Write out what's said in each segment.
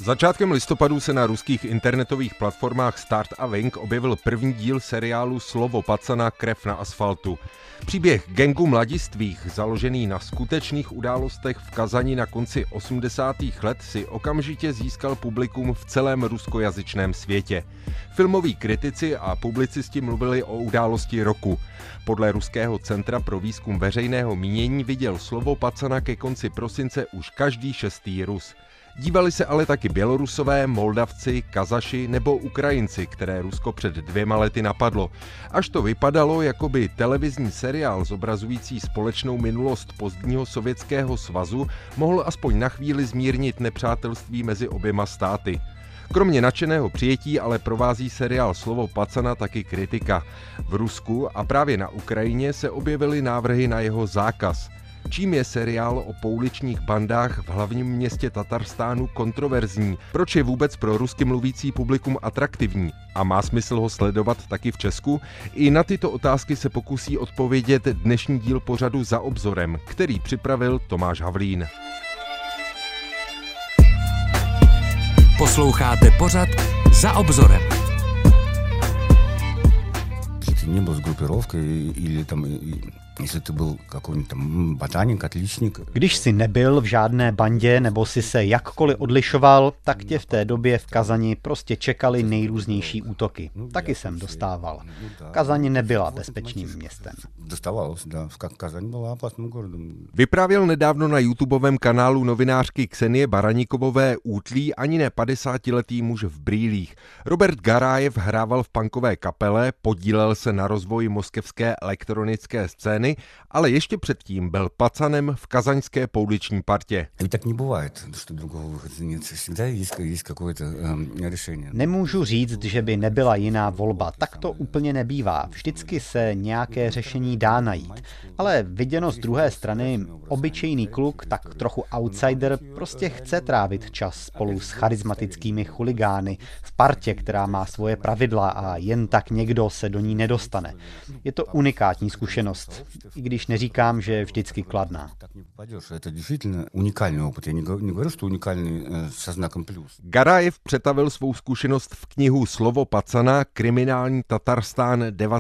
Začátkem listopadu se na ruských internetových platformách Start a Wink objevil první díl seriálu Slovo Pacana krev na asfaltu. Příběh gangu mladistvých, založený na skutečných událostech v Kazani na konci 80. let, si okamžitě získal publikum v celém ruskojazyčném světě. Filmoví kritici a publicisti mluvili o události roku. Podle Ruského centra pro výzkum veřejného mínění viděl Slovo Pacana ke konci prosince už každý šestý Rus. Dívali se ale taky Bělorusové, Moldavci, Kazaši nebo Ukrajinci, které Rusko před 2 lety napadlo. Až to vypadalo, jako by televizní seriál zobrazující společnou minulost pozdního Sovětského svazu mohl aspoň na chvíli zmírnit nepřátelství mezi oběma státy. Kromě nadšeného přijetí ale provází seriál Slovo Pacana taky kritika. V Rusku a právě na Ukrajině se objevily návrhy na jeho zákaz. Čím je seriál o pouličních bandách v hlavním městě Tatarstánu kontroverzní? Proč je vůbec pro rusky mluvící publikum atraktivní? A má smysl ho sledovat taky v Česku? I na tyto otázky se pokusí odpovědět dnešní díl pořadu Za obzorem, který připravil Tomáš Havlín. Posloucháte pořad Za obzorem. Если ты не был с группировкой или там, если ты был какой-нибудь там ботаник, отличник. Když jsi nebyl v žádné bandě nebo si se jakkoliv odlišoval, tak tě v té době v Kazani prostě čekaly nejrůznější útoky. Taky jsem dostával. Kazaň nebyla bezpečným městem. Dostávalo, да. Казань была опасным городом. Vyprávěl nedávno na YouTubovém kanálu novinářky Ksenie Baranikové útlý ani ne 50letý muž v brýlích. Robert Garájev hrával v punkové kapele, podílel se na rozvoji moskevské elektronické scény, ale ještě předtím byl pacanem v kazaňské pouliční partě. Tak nebývает, что другого выхода нет. Всегда есть какое-то решение. Nemůžu říct, že by nebyla jiná volba. Tak to úplně nebývá. Vždycky se nějaké řešení dá najít. Ale viděno z druhé strany, obyčejný kluk, tak trochu outsider, prostě chce trávit čas spolu s charismatickými chuligány v partě, která má svoje pravidla a jen tak někdo se do ní nedostane. Je to unikátní zkušenost, i když neříkám, že je vždycky kladná. Garájev přetavil svou zkušenost v knihu Slovo Pacana, kriminální Tatarstán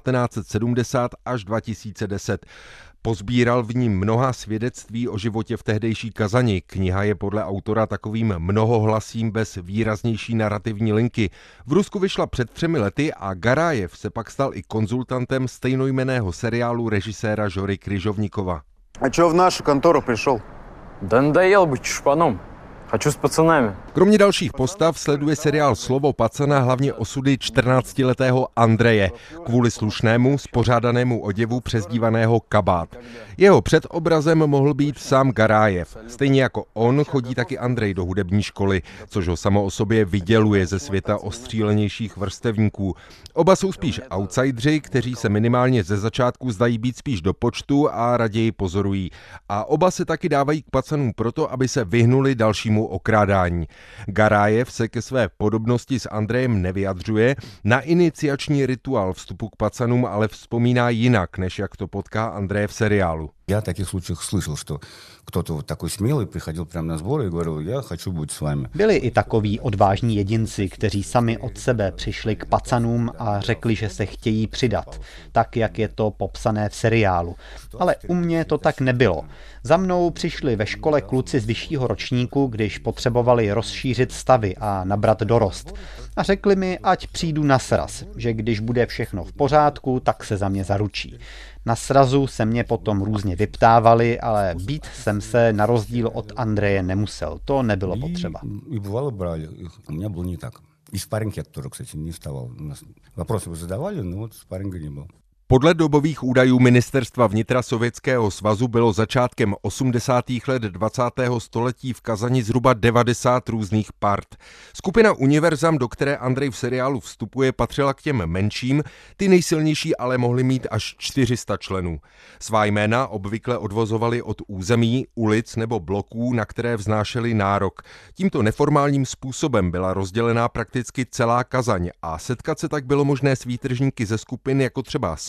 1970 až 2010. Pozbíral v ní mnoha svědectví o životě v tehdejší Kazani. Kniha je podle autora takovým mnohohlasím bez výraznější narrativní linky. V Rusku vyšla před 3 lety a Garájev se pak stal i konzultantem stejnojmenného seriálu režiséra Žory Kryžovníkova. A čo v našu kontoru přišel? Да надоел быть шпаном. Хочу s pacanami. Kromě dalších postav sleduje seriál Slovo Pacana hlavně osudy 14letého Andreje, kvůli slušnému, spořádanému oděvu přezdívaného Kabát. Jeho předobrazem mohl být sám Garájev. Stejně jako on chodí taky Andrej do hudební školy, což ho samo o sobě vyděluje ze světa ostřílenějších vrstevníků. Oba jsou spíš outsidři, kteří se minimálně ze začátku zdají být spíš do počtu a raději pozorují. A oba se taky dávají k pacanům proto, aby se vyhnuli dalšímu okrádání. Garájev se ke své podobnosti s Andrejem nevyjadřuje, na iniciační rituál vstupu k pacanům ale vzpomíná jinak, než jak to potká Andreje v seriálu. Я в таких случаях слышал, что кто-то вот такой смелый приходил прямо на сборы и говорил, я хочу быть с вами. Byli i takoví odvážní jedinci, kteří sami od sebe přišli k pacanům a řekli, že se chtějí přidat, tak jak je to popsané v seriálu. Ale u mě to tak nebylo. Za mnou přišli ve škole kluci z vyššího ročníku, když potřebovali rozšířit stavy a nabrat dorost. A řekli mi, ať přijdu na sraz, že když bude všechno v pořádku, tak se za mě zaručí. Na srazu se mě potom různě vyptávali, ale být jsem se na rozdíl od Andreje nemusel. To nebylo potřeba. И бывало брали, у меня было не так. И спарринг я тоже, кстати, не вставал. Вопросы вы задавали, но вот спарринга не было. Podle dobových údajů Ministerstva vnitra Sovětského svazu bylo začátkem 80. let 20. století v Kazani zhruba 90 různých part. Skupina Univerzam, do které Andrej v seriálu vstupuje, patřila k těm menším, ty nejsilnější ale mohly mít až 400 členů. Svá jména obvykle odvozovali od území, ulic nebo bloků, na které vznášeli nárok. Tímto neformálním způsobem byla rozdělená prakticky celá Kazaň a setkat se tak bylo možné s výtržníky ze skupin jako třeba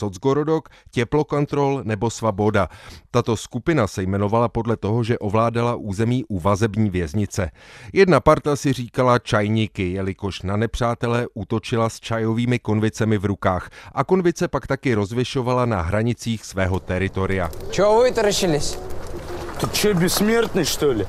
Socgorodok, Teplokontrol nebo Svaboda. Tato skupina se jmenovala podle toho, že ovládala území u vazební věznice. Jedna parta si říkala čajníky, jelikož na nepřátele útočila s čajovými konvicemi v rukách a konvice pak taky rozvěšovala na hranicích svého teritoria. Čeho vytarašilись? Ты че, бессмертный, что ли?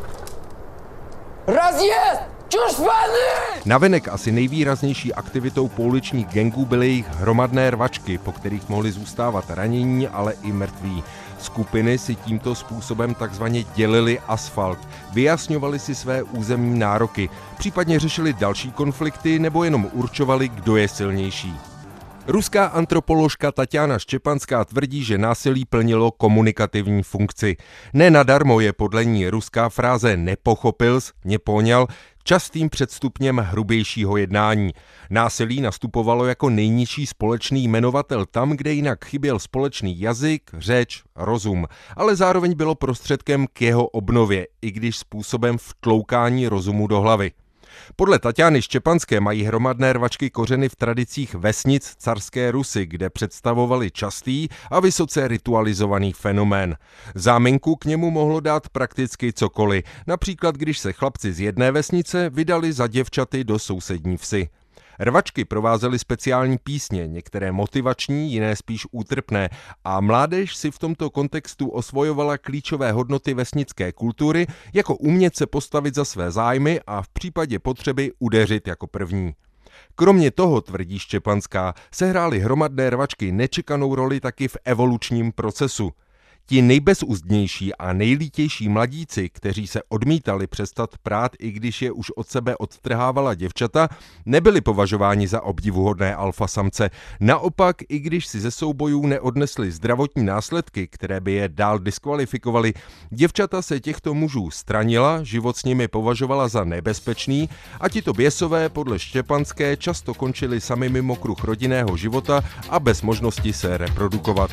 Rozjezd! Čušpany! Navenek asi nejvýraznější aktivitou pouličních gangů byly jejich hromadné rvačky, po kterých mohli zůstávat ranění, ale i mrtví. Skupiny si tímto způsobem takzvaně dělili asfalt, vyjasňovali si své územní nároky, případně řešili další konflikty nebo jenom určovali, kdo je silnější. Ruská antropoložka Taťána Štěpanská tvrdí, že násilí plnilo komunikativní funkci. Nenadarmo je podle ní ruská fráze nepochopils, nepoňal častým předstupněm hrubějšího jednání. Násilí nastupovalo jako nejnižší společný jmenovatel tam, kde jinak chyběl společný jazyk, řeč, rozum, ale zároveň bylo prostředkem k jeho obnově, i když způsobem vtloukání rozumu do hlavy. Podle Taťány Štěpanské mají hromadné rvačky kořeny v tradicích vesnic carské Rusy, kde představovali častý a vysoce ritualizovaný fenomén. Záminku k němu mohlo dát prakticky cokoliv, například když se chlapci z jedné vesnice vydali za děvčaty do sousední vsi. Rvačky provázely speciální písně, některé motivační, jiné spíš útrpné, a mládež si v tomto kontextu osvojovala klíčové hodnoty vesnické kultury, jako umět se postavit za své zájmy a v případě potřeby udeřit jako první. Kromě toho, tvrdí Štěpanská, sehrály hromadné rvačky nečekanou roli taky v evolučním procesu. Ti nejbezuzdnější a nejlítější mladíci, kteří se odmítali přestat prát, i když je už od sebe odtrhávala děvčata, nebyli považováni za obdivuhodné alfasamce. Naopak, i když si ze soubojů neodnesli zdravotní následky, které by je dál diskvalifikovaly, děvčata se těchto mužů stranila, život s nimi považovala za nebezpečný a tito běsové podle Štěpanské často končili sami mimo kruh rodinného života a bez možnosti se reprodukovat.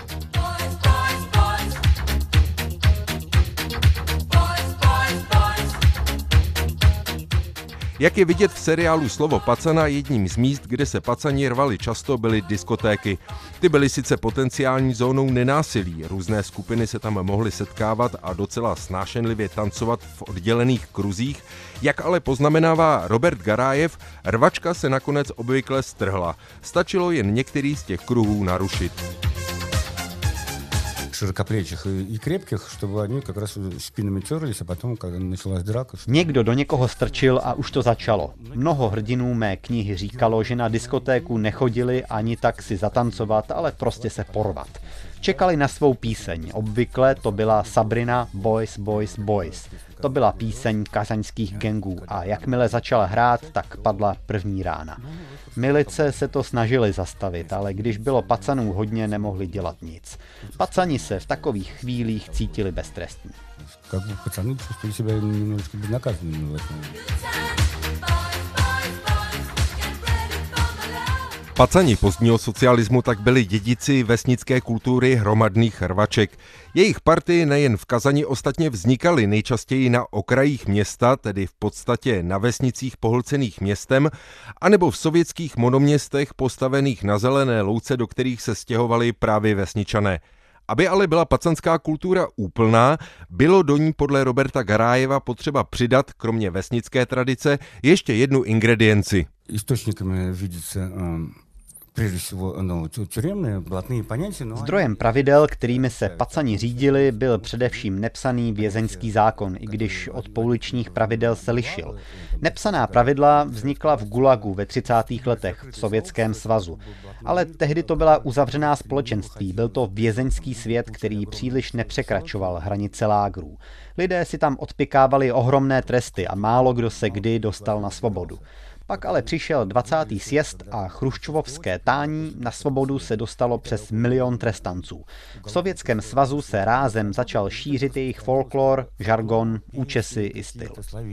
Jak je vidět v seriálu Slovo pacana, jedním z míst, kde se pacani rvali často, byly diskotéky. Ty byly sice potenciální zónou nenásilí, různé skupiny se tam mohly setkávat a docela snášenlivě tancovat v oddělených kruzích, jak ale poznamenává Robert Garájev, rvačka se nakonec obvykle strhla. Stačilo jen některý z těch kruhů narušit. Широкоплечих и крепких, чтобы они как раз спинами терлись, a potom, когда началась драка... Někdo do někoho strčil a už to začalo. Mnoho hrdinů mé knihy říkalo, že na diskotéku nechodili ani tak si zatancovat, ale prostě se porvat. Čekali na svou píseň. Obvykle to byla Sabrina Boys, Boys, Boys. To byla píseň kazaňských gangů a jakmile začala hrát, tak padla první rána. Milice se to snažili zastavit, ale když bylo pacanů hodně, nemohli dělat nic. Pacani se v takových chvílích cítili beztrestní. Как бы пацаны чувствовали себя немножечко безнаказанными в этом. Pacani pozdního socialismu tak byli dědici vesnické kultury hromadných rvaček. Jejich party nejen v Kazani ostatně vznikaly nejčastěji na okrajích města, tedy v podstatě na vesnicích pohlcených městem, anebo v sovětských monoměstech postavených na zelené louce, do kterých se stěhovali právě vesničané. Aby ale byla pacanská kultura úplná, bylo do ní podle Roberta Garájeva potřeba přidat, kromě vesnické tradice, ještě jednu ingredienci. Источниками видится прежде всего тюремные, блатные понятия. Zdrojem pravidel, kterými se pacani řídili, byl především nepsaný vězeňský zákon, i když od pouličních pravidel se lišil. Nepsaná pravidla vznikla v Gulagu ve 30. letech v Sovětském svazu. Ale tehdy to byla uzavřená společenství, byl to vězeňský svět, který příliš nepřekračoval hranice lágrů. Lidé si tam odpykávali ohromné tresty a málo kdo se kdy dostal na svobodu. Pak ale přišel 20. sjezd a chruščovovské tání, na svobodu se dostalo přes 1 milion trestanců. V Sovětském svazu se rázem začal šířit jejich folklor, žargon, účesy i styl.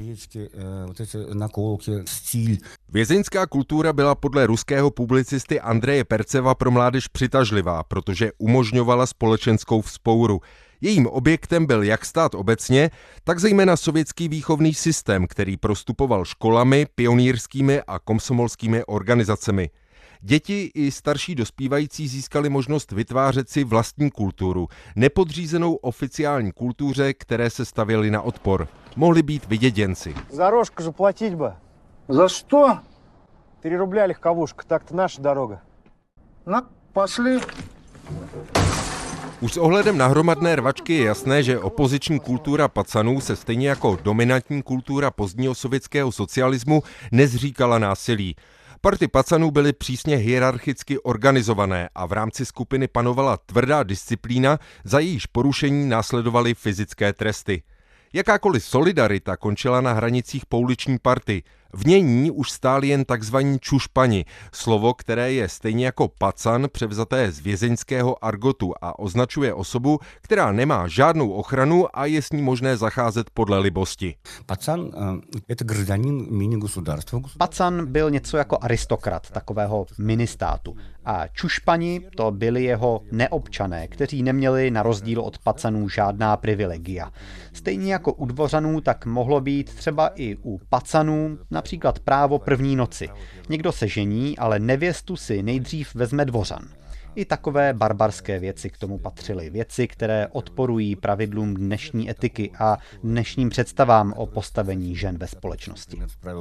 Vězeňská kultura byla podle ruského publicisty Andreje Perceva pro mládež přitažlivá, protože umožňovala společenskou vzpouru. Jejím objektem byl jak stát obecně, tak zejména sovětský výchovný systém, který prostupoval školami, pionýrskými a komsomolskými organizacemi. Děti i starší dospívající získali možnost vytvářet si vlastní kulturu, nepodřízenou oficiální kultuře, které se stavěly na odpor. Mohli být vyděděnci. За рожку же платить бы. За что? 3 рубля легковушка, так-то наша дорога. На, пошли. Už s ohledem na hromadné rvačky je jasné, že opoziční kultura pacanů se stejně jako dominantní kultura pozdního sovětského socialismu nezříkala násilí. Party pacanů byly přísně hierarchicky organizované a v rámci skupiny panovala tvrdá disciplína, za jejíž porušení následovaly fyzické tresty. Jakákoliv solidarita končila na hranicích pouliční party. V ní už stáli jen takzvaní čušpani, slovo, které je stejně jako pacan převzaté z vězeňského argotu a označuje osobu, která nemá žádnou ochranu a je s ní možné zacházet podle libosti. Пацан – это гражданин мини-государства. Pacan byl něco jako aristokrat takového ministátu. A čušpani to byli jeho neobčané, kteří neměli na rozdíl od pacanů žádná privilegia. Stejně jako u dvořanů, tak mohlo být třeba i u pacanů například právo první noci. Někdo se žení, ale nevěstu si nejdřív vezme dvořan. I takové barbarské věci k tomu patřily. Věci, které odporují pravidlům dnešní etiky a dnešním představám o postavení žen ve společnosti.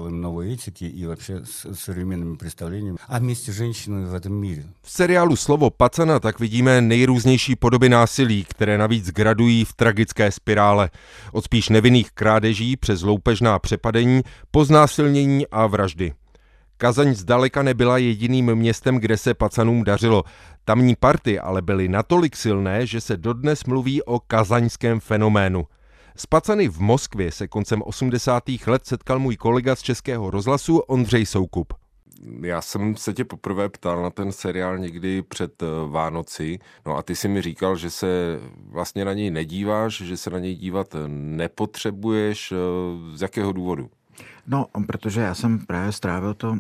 V seriálu Slovo pacana tak vidíme nejrůznější podoby násilí, které navíc gradují v tragické spirále. Od spíš nevinných krádeží přes loupežná přepadení po znásilnění a vraždy. Kazaň zdaleka nebyla jediným městem, kde se pacanům dařilo. Tamní party ale byly natolik silné, že se dodnes mluví o kazaňském fenoménu. S pacany v Moskvě se koncem 80. let setkal můj kolega z Českého rozhlasu Ondřej Soukup. Já jsem se tě poprvé ptal na ten seriál někdy před Vánoci, no a ty si mi říkal, že se vlastně na něj nedíváš, že se na něj dívat nepotřebuješ. Z jakého důvodu? No, protože já jsem právě strávil to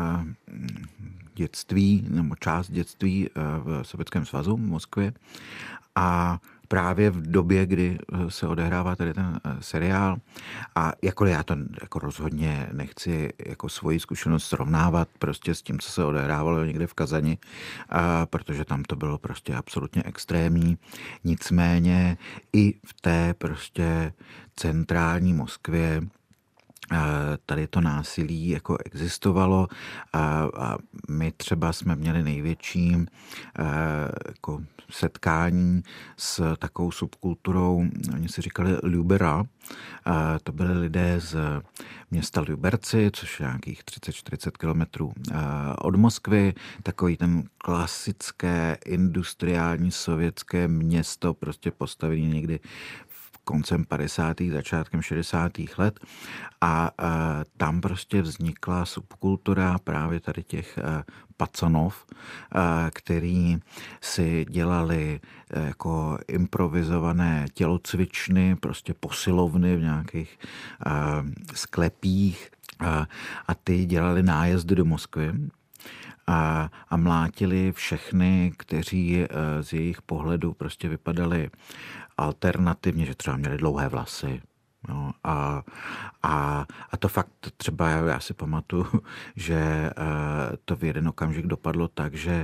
dětství, nebo část dětství v Sovětském svazu v Moskvě a právě v době, kdy se odehrává tady ten seriál a jakkoliv já to jako rozhodně nechci jako svoji zkušenost srovnávat prostě s tím, co se odehrávalo někde v Kazani, protože tam to bylo prostě absolutně extrémní. Nicméně i v té prostě centrální Moskvě tady to násilí jako existovalo a my třeba jsme měli největší jako setkání s takovou subkulturou, oni si říkali Ljubera, to byli lidé z města Liberci, což je nějakých 30-40 kilometrů od Moskvy, takový ten klasické industriální sovětské město, prostě postavený někdy koncem 50. začátkem 60. let a tam prostě vznikla subkultura právě tady těch pacanov, který si dělali jako improvizované tělocvičny, prostě posilovny v nějakých sklepích a ty dělali nájezdy do Moskvy a mlátili všechny, kteří z jejich pohledu prostě vypadali alternativně, že třeba měli dlouhé vlasy. No, a to fakt třeba, já si pamatuju, že to v jeden okamžik dopadlo tak, že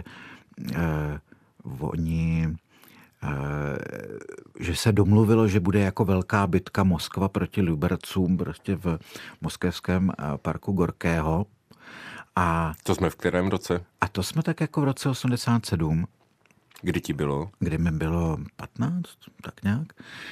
že se domluvilo, že bude jako velká bitka Moskva proti Libercům prostě v moskevském parku Gorkého. A to jsme v kterém roce? A to jsme tak jako v roce 87. Kdy ti bylo? Kdy mi bylo 15, tak nějak.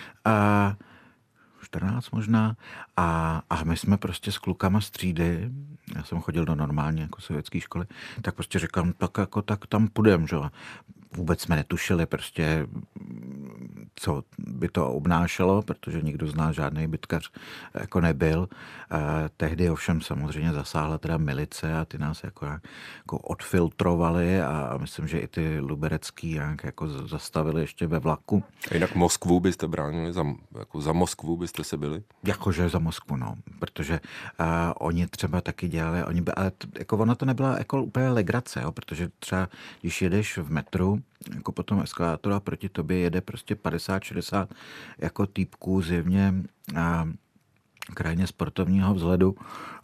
14 možná. A my jsme prostě s klukama z třídy, já jsem chodil do normální jako sovětské školy, tak prostě říkám, tak tam půjdem, že? Vůbec jsme netušili prostě, co by to obnášelo, protože nikdo z nás žádný bitkař jako nebyl. Tehdy ovšem samozřejmě zasáhla teda milice a ty nás jako odfiltrovali a myslím, že i ty luberecký jako zastavili ještě ve vlaku. A jinak Moskvu byste bránili? Za Moskvu byste se byli? Jakože za Moskvu, no. Protože oni třeba taky dělali, ale jako ono to nebyla jako úplně legrace, jo, protože třeba když jedeš v metru, jako po tom eskalátoru a proti tobě jede prostě 50-60 jako týpků zjevně krajně sportovního vzhledu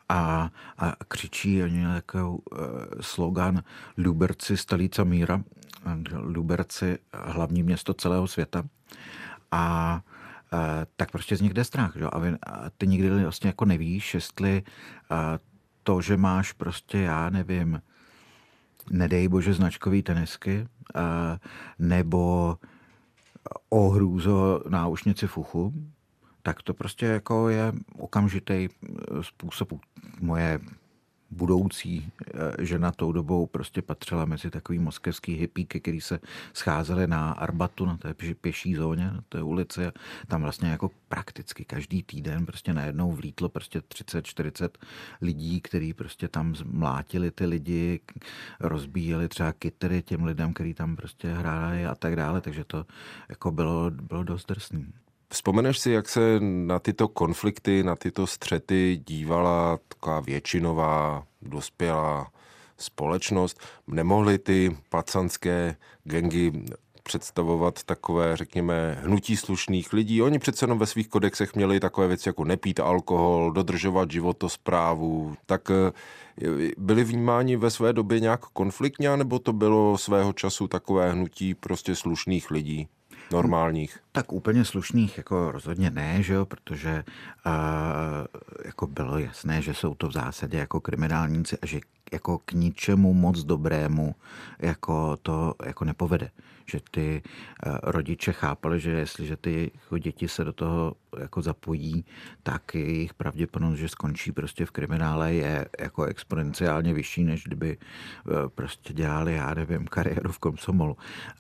a křičí, oni měli takový slogan Liberci stolica míra, Liberci hlavní město celého světa. A tak prostě z nich jde strach. Že? A ty nikdy vlastně jako nevíš, jestli to, že máš prostě, já nevím, nedej bože značkový tenisky, nebo ohrůzo náušnici v uchu, tak to prostě jako je okamžitý způsob. Moje budoucí žena tou dobou prostě patřila mezi takový moskevský hippíky, který se scházeli na Arbatu, na té pěší zóně, na té ulici. Tam vlastně jako prakticky každý týden prostě najednou vlítlo prostě 30-40 lidí, kteří prostě tam mlátili ty lidi, rozbíjeli třeba kytary těm lidem, kteří tam prostě hráli a tak dále, takže to jako bylo dost drsný. Vzpomeneš si, jak se na tyto konflikty, na tyto střety dívala taková většinová, dospělá společnost? Nemohly ty pacanské gangy představovat takové, řekněme, hnutí slušných lidí? Oni přece jenom ve svých kodexech měli takové věci jako nepít alkohol, dodržovat životosprávu. Tak byli vnímáni ve své době nějak konfliktně, nebo to bylo svého času takové hnutí prostě slušných lidí? Normálních. Tak úplně slušných jako rozhodně ne, že jo, protože jako bylo jasné, že jsou to v zásadě jako kriminálníci a že jako k ničemu moc dobrému jako to jako nepovede. Že ty rodiče chápali, že jestliže ty děti se do toho jako zapojí, tak jejich pravděpodobnost, že skončí prostě v kriminále, je jako exponenciálně vyšší, než kdyby prostě dělali, já nevím, kariéru v komsomolu.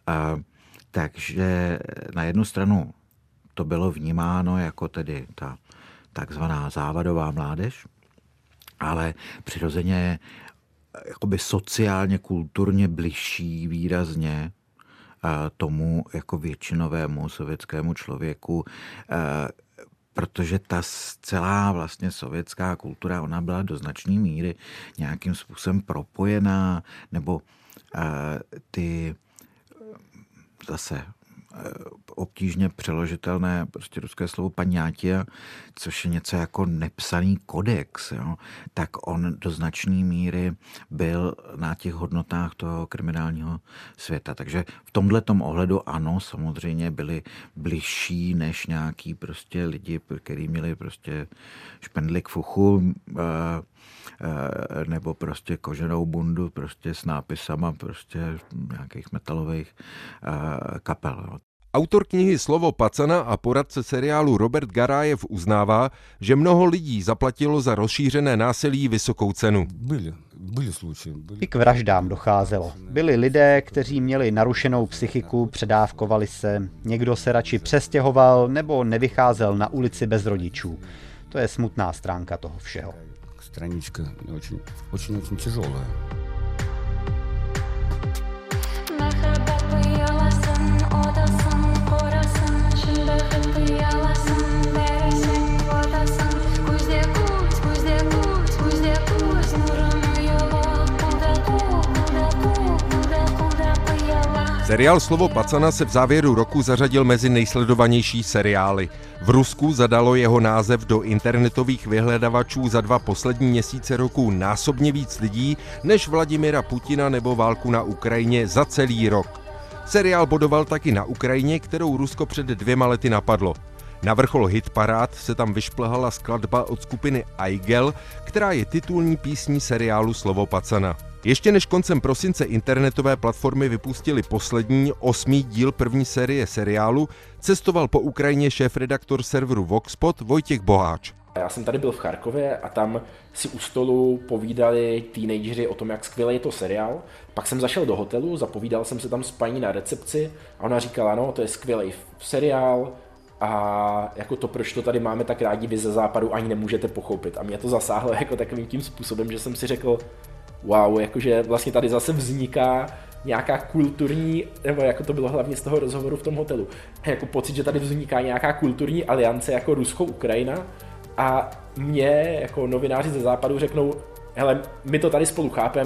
Takže na jednu stranu to bylo vnímáno jako tedy ta takzvaná závadová mládež, ale přirozeně jakoby sociálně, kulturně bližší výrazně tomu jako většinovému sovětskému člověku, protože ta celá vlastně sovětská kultura, ona byla do značné míry nějakým způsobem propojená, nebo ty zase obtížně přeložitelné prostě ruské slovo paňátia, což je něco jako nepsaný kodex, jo? Tak on do značné míry byl na těch hodnotách toho kriminálního světa. Takže v tomhletom ohledu ano, samozřejmě byli bližší než nějaký prostě lidi, kteří měli prostě špendlík v uchu, nebo prostě koženou bundu prostě s nápisama prostě nějakých metalových kapel. Autor knihy Slovo pacana a poradce seriálu Robert Garájev uznává, že mnoho lidí zaplatilo za rozšířené násilí vysokou cenu. I k vraždám docházelo. Byli lidé, kteří měli narušenou psychiku, předávkovali se, někdo se radši přestěhoval nebo nevycházel na ulici bez rodičů. To je smutná stránka toho všeho. Stranička очень těžolá. Seriál Slovo pacana se v závěru roku zařadil mezi nejsledovanější seriály. V Rusku zadalo jeho název do internetových vyhledavačů za 2 poslední měsíce roku násobně víc lidí než Vladimira Putina nebo válku na Ukrajině za celý rok. Seriál bodoval taky na Ukrajině, kterou Rusko před 2 lety napadlo. Na vrchol hitparád se tam vyšplhala skladba od skupiny Aigel, která je titulní písní seriálu Slovo pacana. Ještě než koncem prosince internetové platformy vypustili poslední 8. díl první série seriálu, cestoval po Ukrajině šéfredaktor serveru Voxpot Vojtěch Boháč. Já jsem tady byl v Charkově a tam si u stolu povídali teenageři o tom, jak skvělý je to seriál. Pak jsem zašel do hotelu, zapovídal jsem se tam s paní na recepci a ona říkala, no, to je skvělý seriál a jako to, proč to tady máme tak rádi vy ze západu, ani nemůžete pochopit. A mě to zasáhlo jako takovým tím způsobem, že jsem si řekl, wow, jakože vlastně tady zase vzniká nějaká kulturní, nebo jako to bylo hlavně z toho rozhovoru v tom hotelu, jako pocit, že tady vzniká nějaká kulturní aliance jako Rusko-Ukrajina a mě jako novináři ze západu řeknou, hele, my to tady spolu chápeme a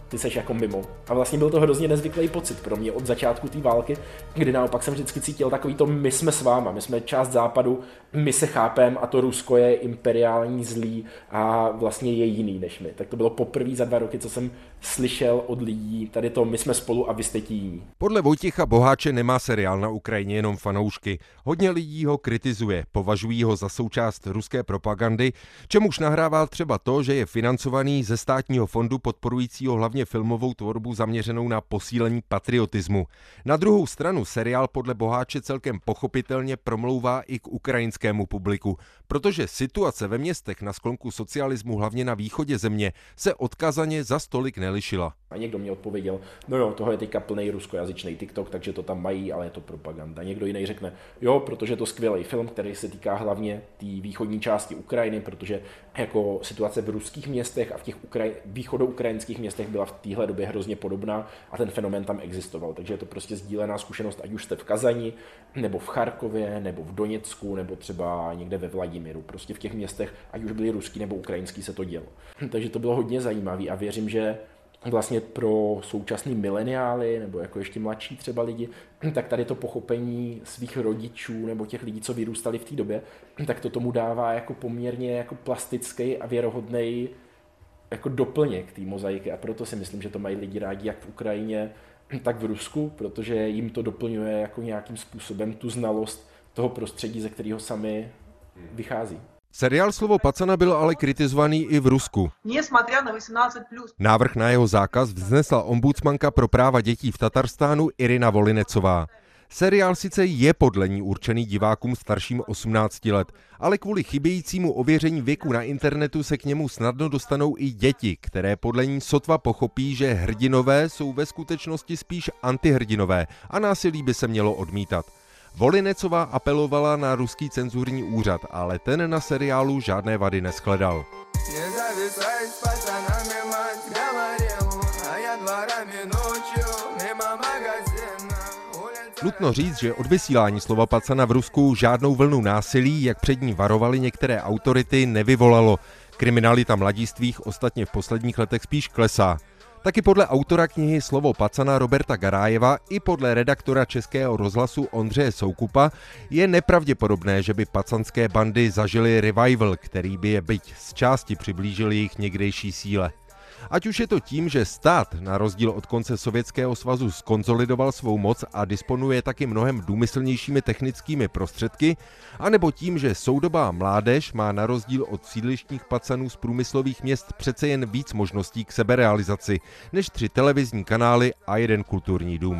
ty seš jako mimo. A vlastně byl to hrozně nezvyklý pocit pro mě od začátku té války, kdy naopak jsem vždycky cítil takový to my jsme s váma, my jsme část západu, my se chápem a to Rusko je imperiální zlý a vlastně je jiný než my. Tak to bylo poprvé za 2 roky, co jsem slyšel od lidí tady to my jsme spolu a vy jste ti jiní. Podle Vojtěcha Boháče nemá seriál na Ukrajině jenom fanoušky. Hodně lidí ho kritizuje, považují ho za součást ruské propagandy, čemuž nahrává třeba to, že je financovaný ze státního fondu podporujícího hlavně filmovou tvorbu zaměřenou na posílení patriotismu. Na druhou stranu seriál podle Boháče celkem pochopitelně promlouvá i k ukrajinskému publiku, protože situace ve městech na sklonku socialismu, hlavně na východě země, se odkazaně za stolik nelišila. A někdo mě odpověděl, no jo, toho je teďka plný ruskojazyčný TikTok, takže to tam mají, ale je to propaganda. Někdo jiný řekne, jo, protože je to skvělý film, který se týká hlavně té východní části Ukrajiny, protože jako situace v ruských městech a v těch východoukrajinských městech byla v téhle době hrozně podobná a ten fenomén tam existoval. Takže je to prostě sdílená zkušenost, ať už jste v Kazani, nebo v Charkově, nebo v Doněcku, nebo třeba někde ve Vladimiru. Prostě v těch městech, ať už byli ruský nebo ukrajinský, se to dělo. Takže to bylo hodně zajímavé a věřím, že vlastně pro současný mileniály nebo jako ještě mladší třeba lidi, tak tady to pochopení svých rodičů nebo těch lidí, co vyrůstali v té době, tak to tomu dává jako poměrně jako plastický a věrohodný jako doplněk té mozaiky a proto si myslím, že to mají lidi rádi jak v Ukrajině, tak v Rusku, protože jim to doplňuje jako nějakým způsobem tu znalost toho prostředí, ze kterého sami vychází. Seriál Slovo Pacana byl ale kritizovaný i v Rusku. Návrh na jeho zákaz vznesla ombudsmanka pro práva dětí v Tatarstánu Irina Volinecová. Seriál sice je podle ní určený divákům starším 18 let, ale kvůli chybějícímu ověření věku na internetu se k němu snadno dostanou i děti, které podle ní sotva pochopí, že hrdinové jsou ve skutečnosti spíš antihrdinové a násilí by se mělo odmítat. Volinecová apelovala na ruský cenzurní úřad, ale ten na seriálu žádné vady neshledal. Nutno říct, že odvysílání Slova Pacana v Rusku žádnou vlnu násilí, jak před ní varovaly některé autority, nevyvolalo. Kriminalita mladistvých ostatně v posledních letech spíš klesá. Taky podle autora knihy Slovo Pacana Roberta Garájeva i podle redaktora Českého rozhlasu Ondřeje Soukupa je nepravděpodobné, že by pacanské bandy zažily revival, který by je byť z části přiblížil jejich někdejší síle. Ať už je to tím, že stát na rozdíl od konce Sovětského svazu skonsolidoval svou moc a disponuje taky mnohem důmyslnějšími technickými prostředky, anebo tím, že soudobá mládež má na rozdíl od sídlištních pacanů z průmyslových měst přece jen víc možností k seberealizaci, než 3 televizní kanály a 1 kulturní dům.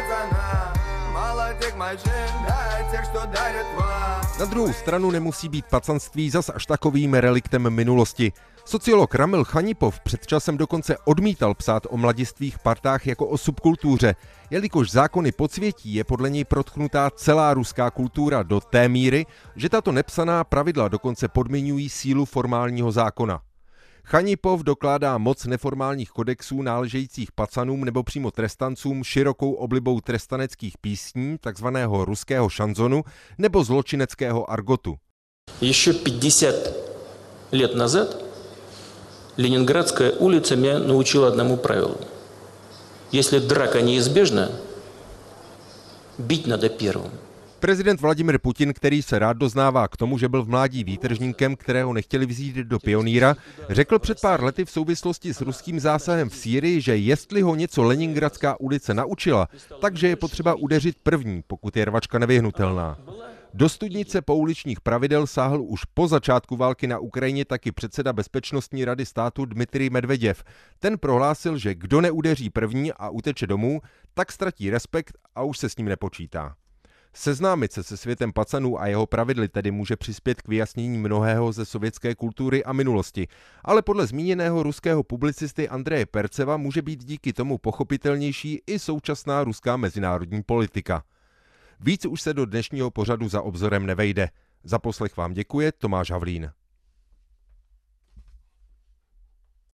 Na druhou stranu nemusí být pacanství zas až takovým reliktem minulosti. Sociolog Ramil Chanipov před časem dokonce odmítal psát o mladistvých partách jako o subkultuře, jelikož zákony podsvětí je podle něj protknutá celá ruská kultura do té míry, že tato nepsaná pravidla dokonce podmiňují sílu formálního zákona. Chanipov dokládá moc neformálních kodexů náležejících pacanům nebo přímo trestancům širokou oblibou trestaneckých písní, takzvaného ruského šanzonu nebo zločineckého argotu. Ještě 50 let nazad Ленинградская улица меня научила одному правилу. Если драка неизбежна, бить надо первым. Prezident Vladimir Putin, který se rád doznává k tomu, že byl v mládí výtržníkem, kterého nechtěli vzít do pionýra, řekl před pár lety v souvislosti s ruským zásahem v Sýrii, že jestli ho něco Leningradská ulice naučila, takže je potřeba udeřit první, pokud je rvačka nevyhnutelná. Do studnice pouličních pravidel sáhl už po začátku války na Ukrajině taky předseda Bezpečnostní rady státu Dmitrij Medveděv. Ten prohlásil, že kdo neudeří první a uteče domů, tak ztratí respekt a už se s ním nepočítá. Seznámit se světem pacanů a jeho pravidly tedy může přispět k vyjasnění mnohého ze sovětské kultury a minulosti, ale podle zmíněného ruského publicisty Andreje Perceva může být díky tomu pochopitelnější i současná ruská mezinárodní politika. Víc už se do dnešního pořadu Za obzorem nevejde. Za poslech vám děkuje Tomáš Havlín.